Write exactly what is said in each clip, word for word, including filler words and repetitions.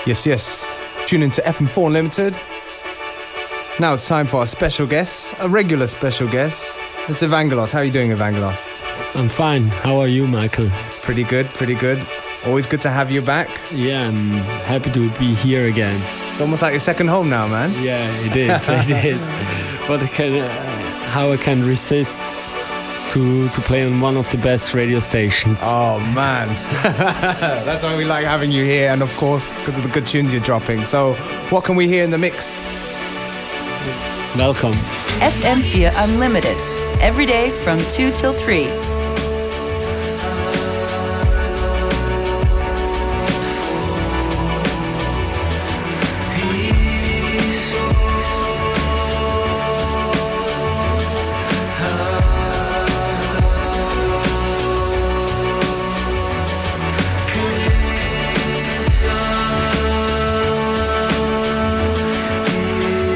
Yes, yes. Tune into F M four Unlimited. Now it's time for our special guest, a regular special guest. It's Evangelos. How are you doing, Evangelos? I'm fine. How are you, Michael? Pretty good, pretty good. Always good to have you back. Yeah, I'm happy to be here again. It's almost like your second home now, man. Yeah, it is. It is. But I can, uh, how I can resist to to play on one of the best radio stations. Oh man, that's why we like having you here, and of course because of the good tunes you're dropping. So what can we hear in the mix? Welcome. F M four Unlimited, every day from two till three.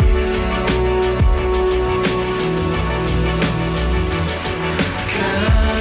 Can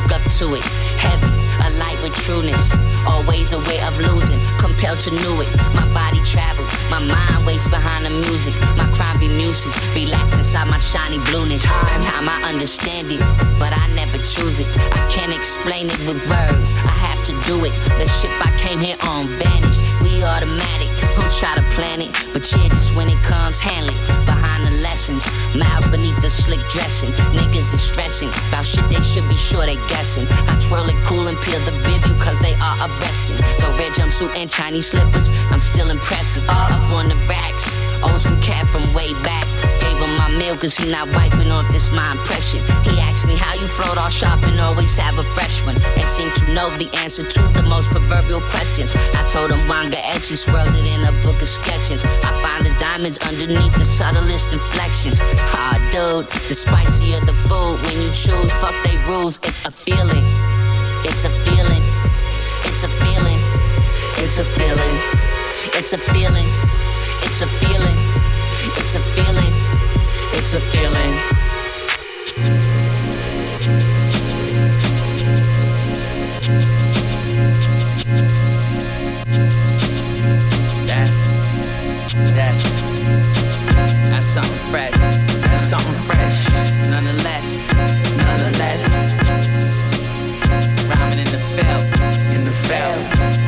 woke up to it. Heavy, a light with trueness. Always a way of losing, compelled to know it. My body travel, my mind waits behind the music. My crime be muses, relax inside my shiny blueness. Time, time I understand it, but I never choose it. I can't explain it with words, I have to do it. The ship I came here on vanished, we automatic. Who try to plan it, but yeah, just when it comes, handle it. Behind the lessons, miles beneath the slick dressing. Niggas is stressing about shit they should be sure they guessing. I twirl it cool and peel the bibby cause they are arresting. The red jumpsuit and Chinese slippers, I'm still impressive. All up on the racks, old school cat from way back. Gave him my meal cause he not wiping off this my impression. He asked me how you float all sharp and always have a fresh one, and seemed to know the answer to the most proverbial questions. I told him Wanga Etchy swirled it in a book of sketches. I find the diamonds underneath the subtlest inflections. Ah, dude, the spicier the food when you choose, fuck they rules. It's a feeling, it's a feeling, it's a feeling, it's a feeling, it's a feeling, it's a feeling, it's a feeling, it's a feeling. That's, that's, that's something fresh, that's something fresh, nonetheless, nonetheless. Rhyming in the field, in the field.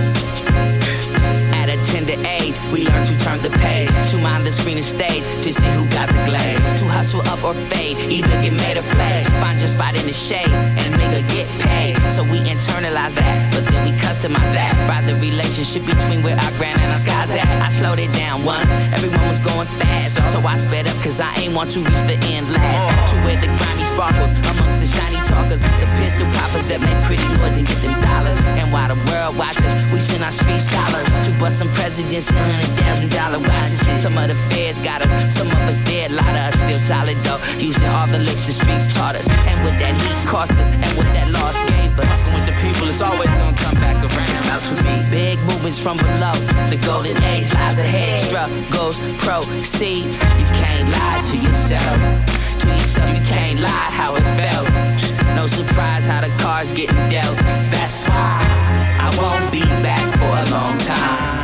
At a tender age, we learn to turn the page, to mind the screen and stage, to see who got the glaze. To hustle up or fade, either get made or play. Find your spot in the shade, and nigga get paid. So we internalize that, but then we customize that by the relationship between where our grand and our skies at. I slowed it down once, everyone was going fast, so I sped up cause I ain't want to reach the end last. To where the grimy sparkles amongst the shiny talkers, the pistol poppers that make pretty noise and get them dollars. And while the world watches, we send our street scholars to bust some presidents and hundred thousand dollar watches. Some of the feds got us, some of us dead, lot of us still solid though, using all the licks the streets taught us. And what that heat cost us, and what that loss gave us. Fucking with the people, it's always gonna come back around. It's about to be big movements from below. The golden age lies ahead, struggles proceed. You can't lie to yourself. To yourself, you can't lie how it felt. No surprise how the cards getting dealt. That's why I won't be back for a long time.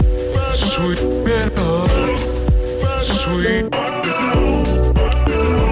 Sweet,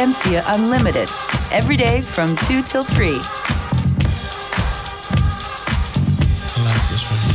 M four Unlimited. Every day from two till three. I like this one.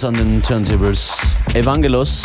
uns an den Turntables Evangelos.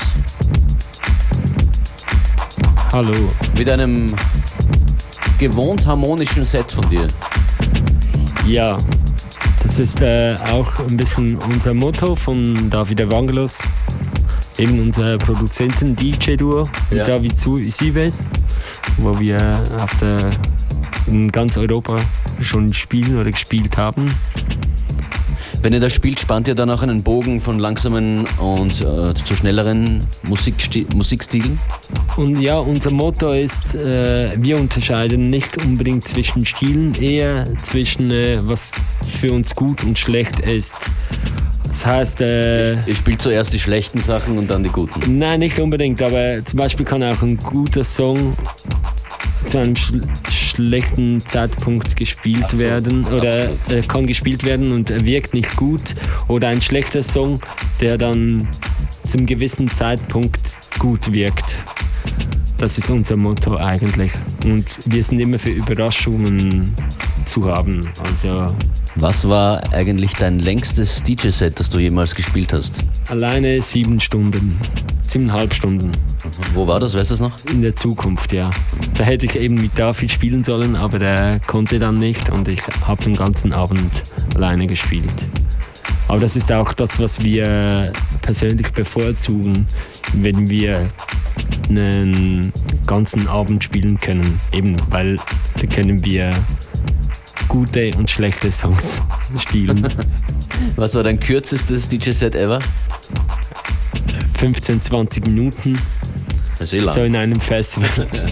Hallo. Mit einem gewohnt harmonischen Set von dir. Ja, das ist äh, auch ein bisschen unser Motto von David Evangelos. Eben unser Produzenten-D J-Duo mit ja. David Sives, wo wir auf der, in ganz Europa schon spielen oder gespielt haben. Wenn ihr das spielt, spannt ihr dann auch einen Bogen von langsamen und äh, zu schnelleren Musiksti- Musikstilen? Und ja, unser Motto ist, äh, wir unterscheiden nicht unbedingt zwischen Stilen, eher zwischen äh, was für uns gut und schlecht ist. Das heißt... Äh, ihr spielt zuerst die schlechten Sachen und dann die guten? Nein, nicht unbedingt, aber zum Beispiel kann auch ein guter Song zu einem sch- schlechten Zeitpunkt gespielt Ach so, werden oder äh, kann gespielt werden und er wirkt nicht gut, oder ein schlechter Song, der dann zum gewissen Zeitpunkt gut wirkt. Das ist unser Motto eigentlich und wir sind immer für Überraschungen zu haben. Also was war eigentlich dein längstes D J-Set, das du jemals gespielt hast? alleine sieben Stunden, siebeneinhalb Stunden. Wo war das, weißt du das noch? In der Zukunft, ja. Da hätte ich eben mit David spielen sollen, aber der konnte dann nicht und ich habe den ganzen Abend alleine gespielt. Aber das ist auch das, was wir persönlich bevorzugen, wenn wir einen ganzen Abend spielen können. Eben, weil da können wir gute und schlechte Songs spielen. Was war dein kürzestes D J-Set ever? fünfzehn, zwanzig Minuten. Das ist eh lang. So in einem Festival.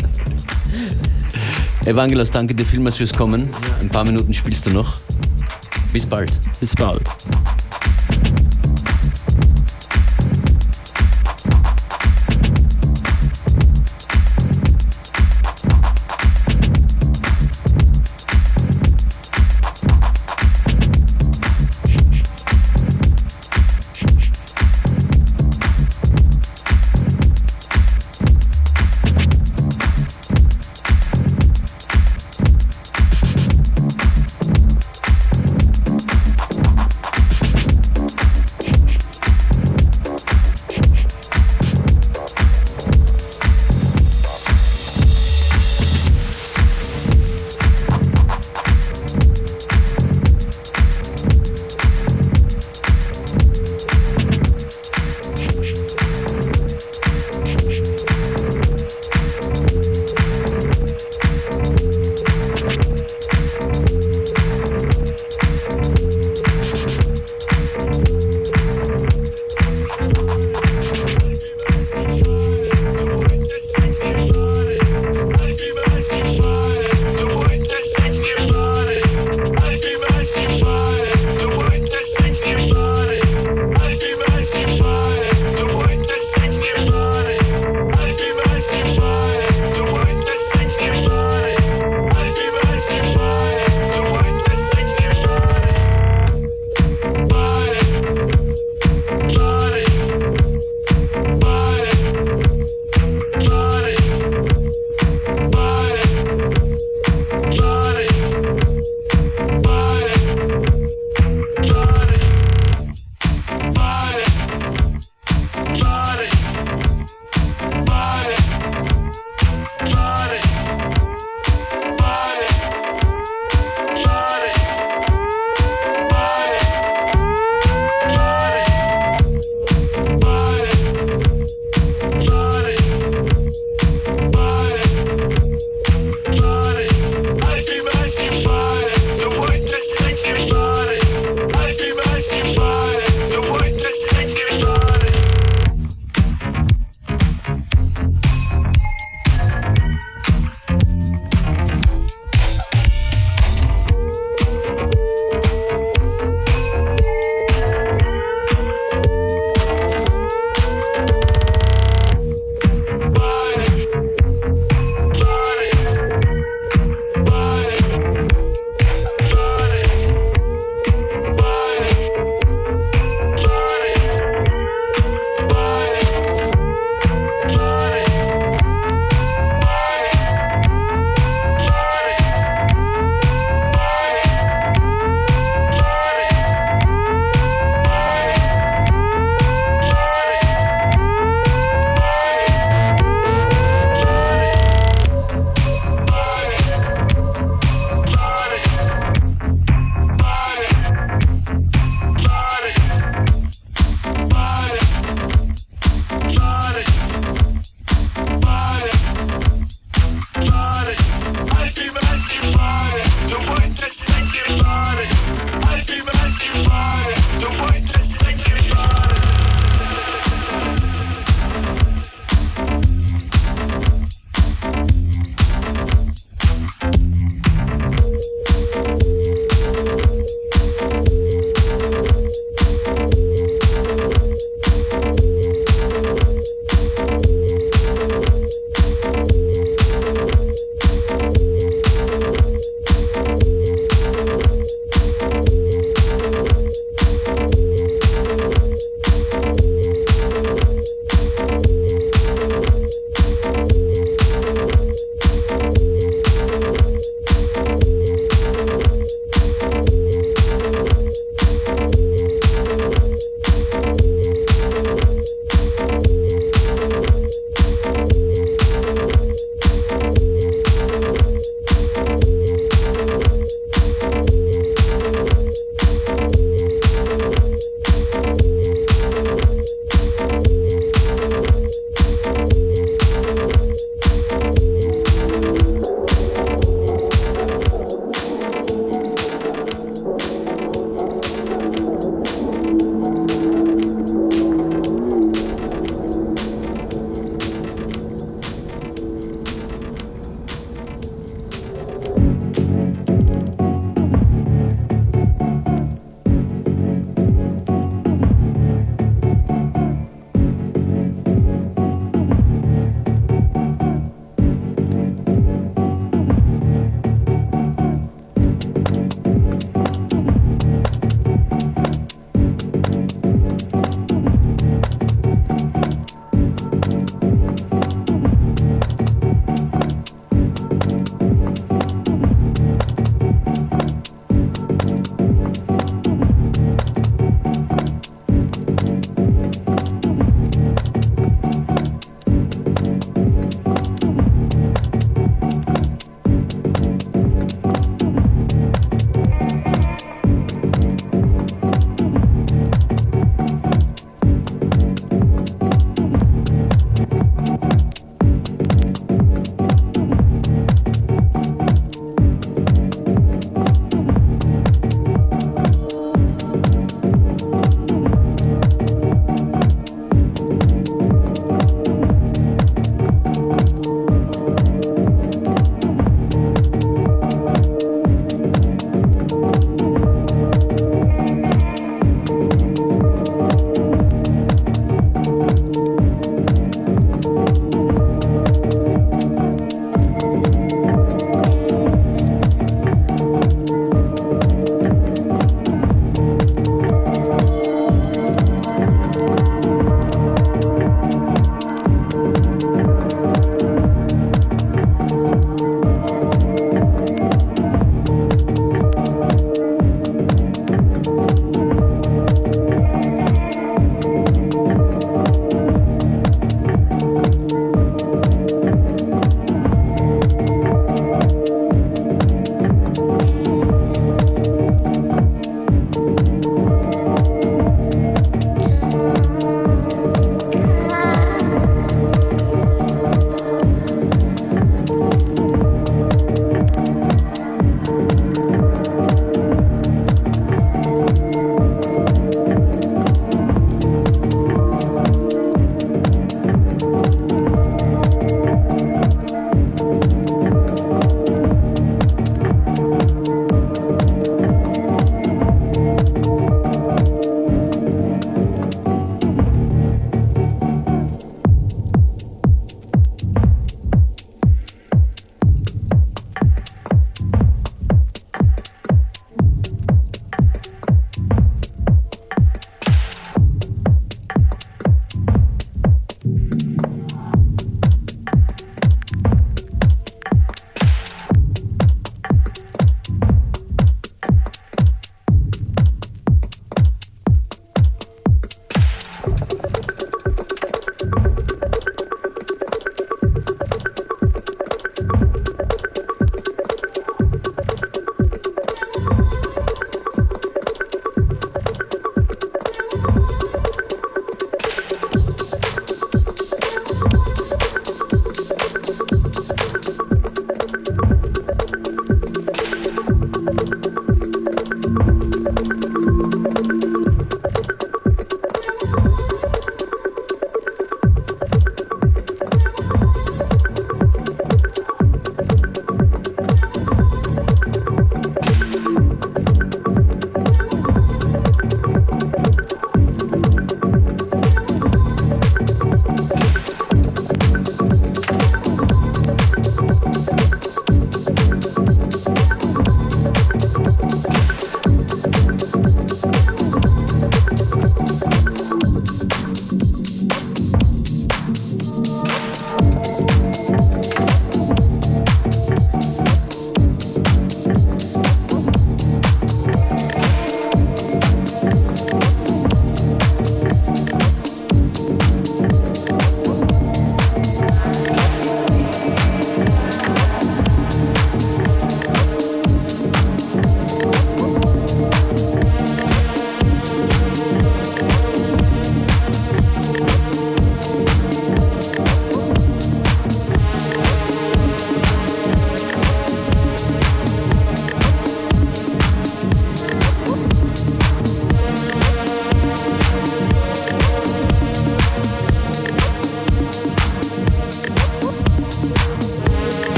Evangelos, danke dir vielmals fürs Kommen. Ein paar Minuten spielst du noch. Bis bald. Bis bald.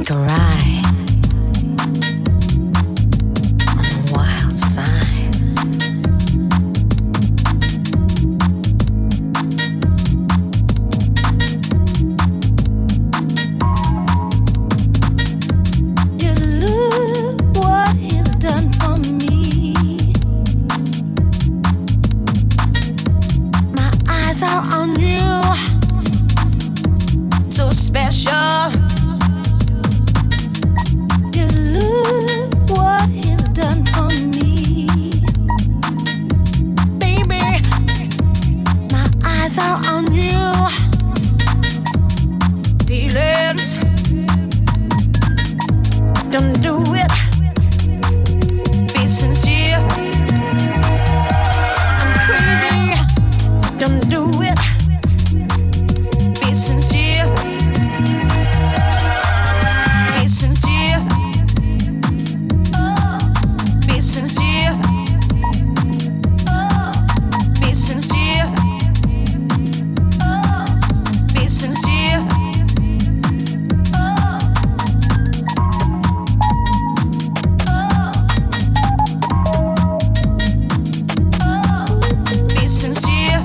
take a ride on the wild side. Just look what he's done for me. My eyes are on you, so special. Just look what he's done for me, baby. My eyes are on you. Feelings, don't do it. Be sincere. I'm crazy. Don't do it. Be sincere. Be sincere. Be sincere. Be sincere. Be sincere. Be sincere.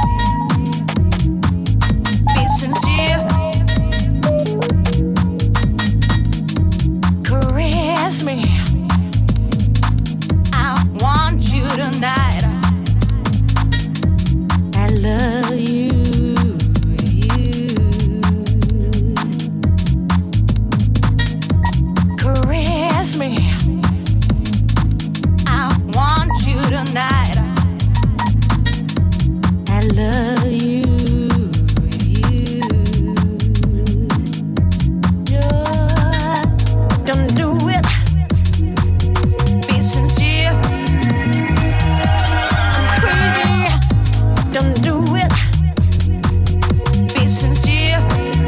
Be sincere. Caress me. I want you tonight. I love you. you. Caress me. I want you tonight. I love you. you. Just don't do it. Be sincere. I'm crazy. Don't do it. Be sincere.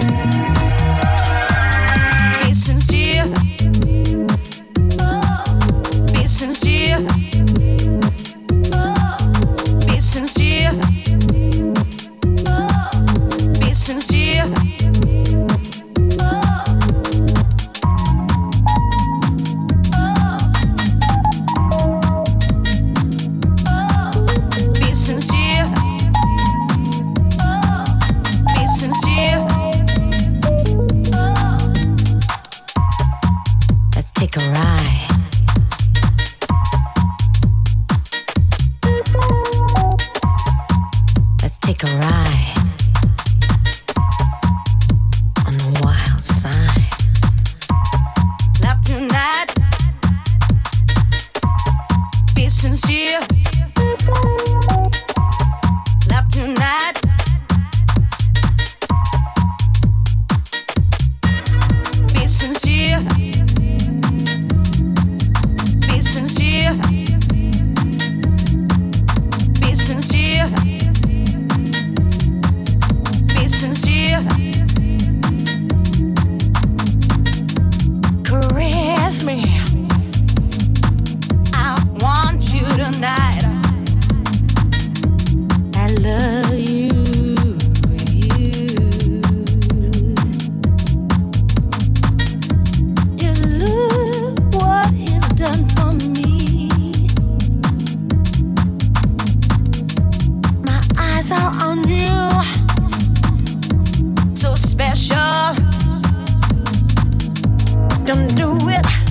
Be sincere. Be sincere. Be sincere. Be sincere. Be sincere. Be sincere. Let's take a ride. Let's take a ride on the wild side. Love tonight. Be sincere. Love tonight. Be sincere. Be sincere. Be sincere. Be sincere. Caress me. I want you tonight. I love you. you. Just look what he's done for me. My eyes are on you, so special. Don't do it.